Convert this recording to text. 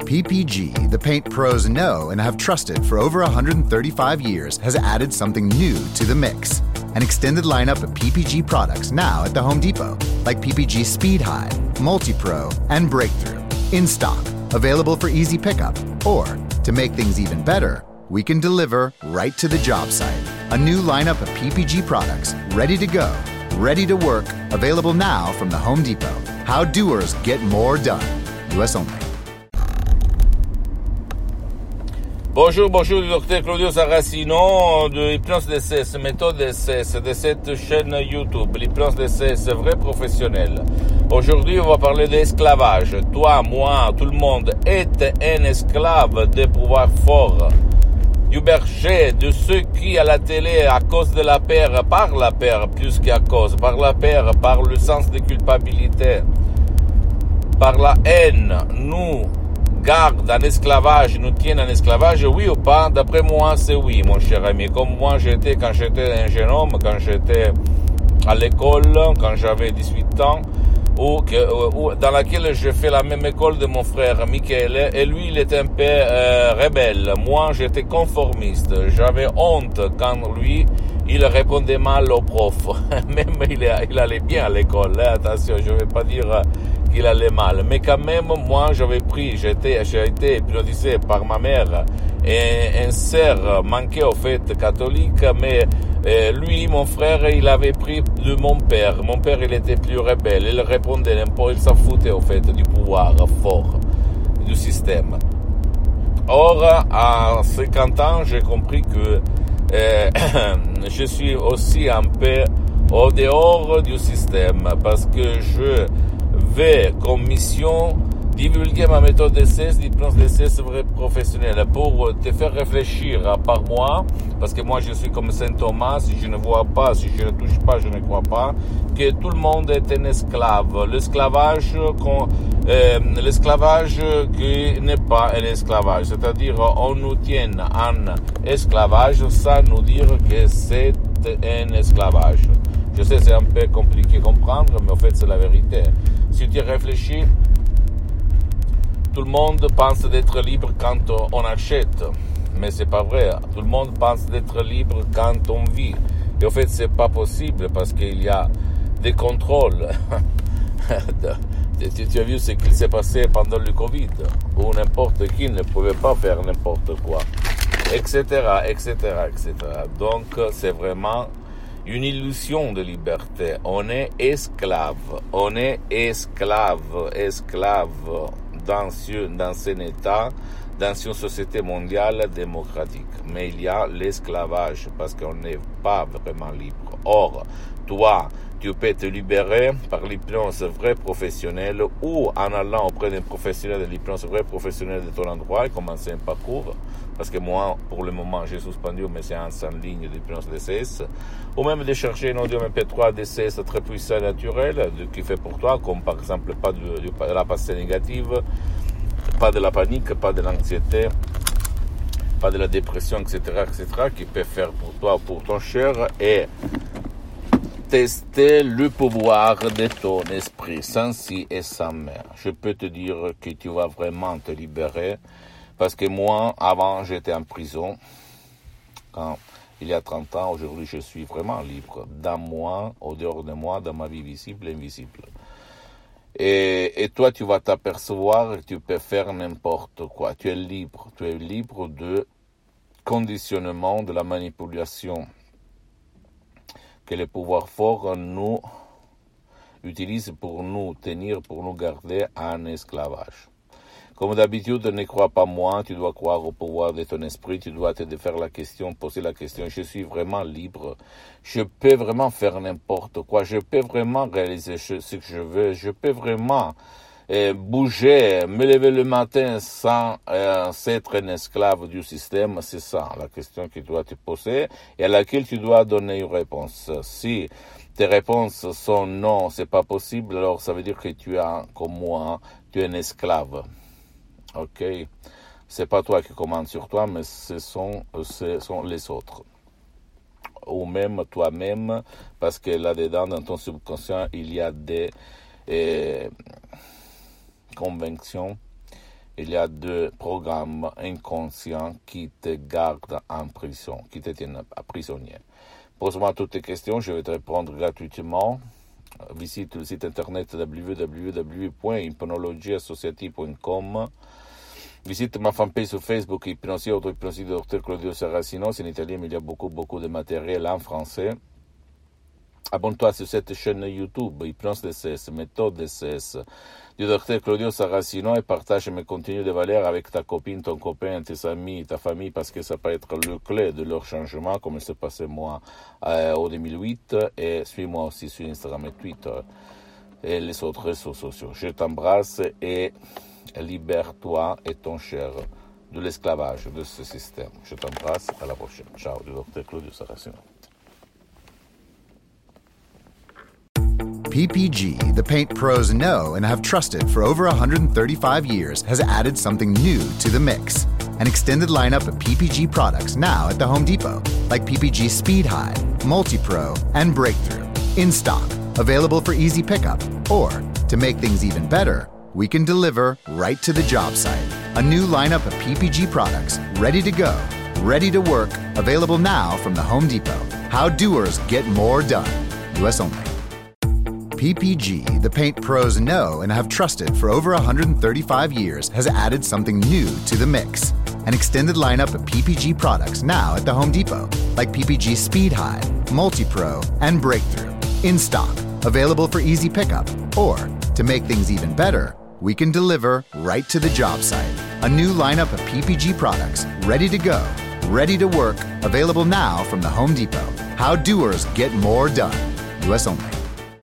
PPG, the paint pros know and have trusted for over 135 years, has added something new to the mix. An extended lineup of PPG products now at the Home Depot, like PPG Speed High, Multi-Pro, and Breakthrough. In stock, available for easy pickup, or, to make things even better, we can deliver right to the job site. A new lineup of PPG products, ready to go, ready to work, available now from the Home Depot. How doers get more done. US only. Bonjour, du docteur Claudio Saracino de Hypnose DCS, méthode DCS de cette chaîne YouTube, l'hypnose DCS vrai professionnel. Aujourd'hui, on va parler d'esclavage. Toi, moi, tout le monde est un esclave des pouvoirs forts, du berger, de ceux qui à la télé, à cause de la peur, par la peur plus qu'à cause, par la peur, par le sens de culpabilité, par la haine, nous garde en esclavage, nous tiennent en esclavage, oui ou pas? D'après moi, c'est oui, mon cher ami. Comme moi, j'étais quand j'étais un jeune homme, quand j'étais à l'école, quand j'avais 18 ans, dans laquelle je fais la même école de mon frère Michele, et lui, il était un peu rebelle. Moi, j'étais conformiste. J'avais honte quand lui, il répondait mal au prof. Même il allait bien à l'école, hein. Attention, je ne vais pas dire qu'il allait mal. Mais quand même, moi, j'ai été hypnotisé par ma mère et un sœur manqué au fait catholique, mais lui, mon frère, il avait pris de mon père. Mon père, il était plus rebelle. Il répondait un peu, il s'en foutait au fait du pouvoir fort du système. Or, à 50 ans, j'ai compris que je suis aussi un peu au dehors du système parce que je vais comme mission divulguer ma méthode DCS, l'hypnose DCS vrai professionnel, pour te faire réfléchir par moi, parce que moi je suis comme Saint Thomas, si je ne vois pas, si je ne touche pas, je ne crois pas, que tout le monde est un esclave. L'esclavage qui n'est pas un esclavage, c'est-à-dire on nous tient en esclavage sans nous dire que c'est un esclavage. Je sais, c'est un peu compliqué à comprendre, mais en fait c'est la vérité. Si tu réfléchis, tout le monde pense d'être libre quand on achète, mais c'est pas vrai. Tout le monde pense d'être libre quand on vit. Et en fait, c'est pas possible parce qu'il y a des contrôles. Tu as vu ce qu'il s'est passé pendant le Covid, où n'importe qui ne pouvait pas faire n'importe quoi, etc., etc., etc. Donc, c'est vraiment une illusion de liberté. On est esclave dans un État, dans une société mondiale démocratique. Mais il y a l'esclavage parce qu'on n'est pas vraiment libre. Or, toi, tu peux te libérer par l'hypnose vraie professionnelle ou en allant auprès d'un professionnel de l'hypnose vraie professionnelle de ton endroit et commencer un parcours. Parce que moi, pour le moment, j'ai suspendu mes séances en ligne d'hypnose DCS. Ou même de chercher un audio MP3 DCS très puissant et naturel, qui fait pour toi, comme par exemple pas de la pensée négative, pas de la panique, pas de l'anxiété, pas de la dépression, etc., etc., qui peut faire pour toi, pour ton cher, et tester le pouvoir de ton esprit, sans si et sans mais. Je peux te dire que tu vas vraiment te libérer, parce que moi, avant, j'étais en prison, il y a 30 ans, aujourd'hui, je suis vraiment libre, dans moi, au dehors de moi, dans ma vie visible et invisible. Et toi, tu vas t'apercevoir que tu peux faire n'importe quoi. Tu es libre de conditionnement, de la manipulation que les pouvoirs forts nous utilisent pour nous tenir, pour nous garder en esclavage. Comme d'habitude, ne crois pas moi, tu dois croire au pouvoir de ton esprit, tu dois te faire la question, poser la question, je suis vraiment libre, je peux vraiment faire n'importe quoi, je peux vraiment réaliser ce que je veux, je peux vraiment bouger, me lever le matin sans être un esclave du système, c'est ça la question que tu dois te poser et à laquelle tu dois donner une réponse. Si tes réponses sont non, c'est pas possible, alors ça veut dire que tu es, comme moi, tu es un esclave. Ok, c'est pas toi qui commandes sur toi, mais ce sont les autres. Ou même toi-même, parce que là-dedans, dans ton subconscient, il y a des convictions il y a deux programmes inconscients qui te gardent en prison, qui te tiennent prisonnier. Pose-moi toutes tes questions, je vais te répondre gratuitement. Visite le site internet www.hypnologieassociative.com. Visite ma fanpage sur Facebook, Hypnosie, Auto-Hypnosie de Dr Claudio Saracino. C'est en italien, mais il y a beaucoup de matériel en français. Abonne-toi sur cette chaîne YouTube, Hypnose DCS, méthode DCS, du Dr Claudio Saracino, et partage mes contenus de valeur avec ta copine, ton copain, tes amis, ta famille, parce que ça peut être le clé de leur changement, comme il s'est passé moi au 2008, et suis-moi aussi sur Instagram et Twitter, et les autres réseaux sociaux. Je t'embrasse et libère-toi et ton cher de l'esclavage de ce système. Je t'embrasse, à la prochaine. Ciao, du Dr Claudio Saracino. PPG, the paint pros know and have trusted for over 135 years, has added something new to the mix. An extended lineup of PPG products now at the Home Depot, like PPG Speed Hide, Multi-Pro, and Breakthrough. In stock, available for easy pickup. Or, to make things even better, we can deliver right to the job site. A new lineup of PPG products, ready to go, ready to work, available now from the Home Depot. How doers get more done. US only. PPG, the paint pros know and have trusted for over 135 years, has added something new to the mix. An extended lineup of PPG products now at the Home Depot, like PPG Speed Hide, Multi-Pro, and Breakthrough. In stock, available for easy pickup. Or, to make things even better, we can deliver right to the job site. A new lineup of PPG products, ready to go, ready to work, available now from the Home Depot. How doers get more done. US only.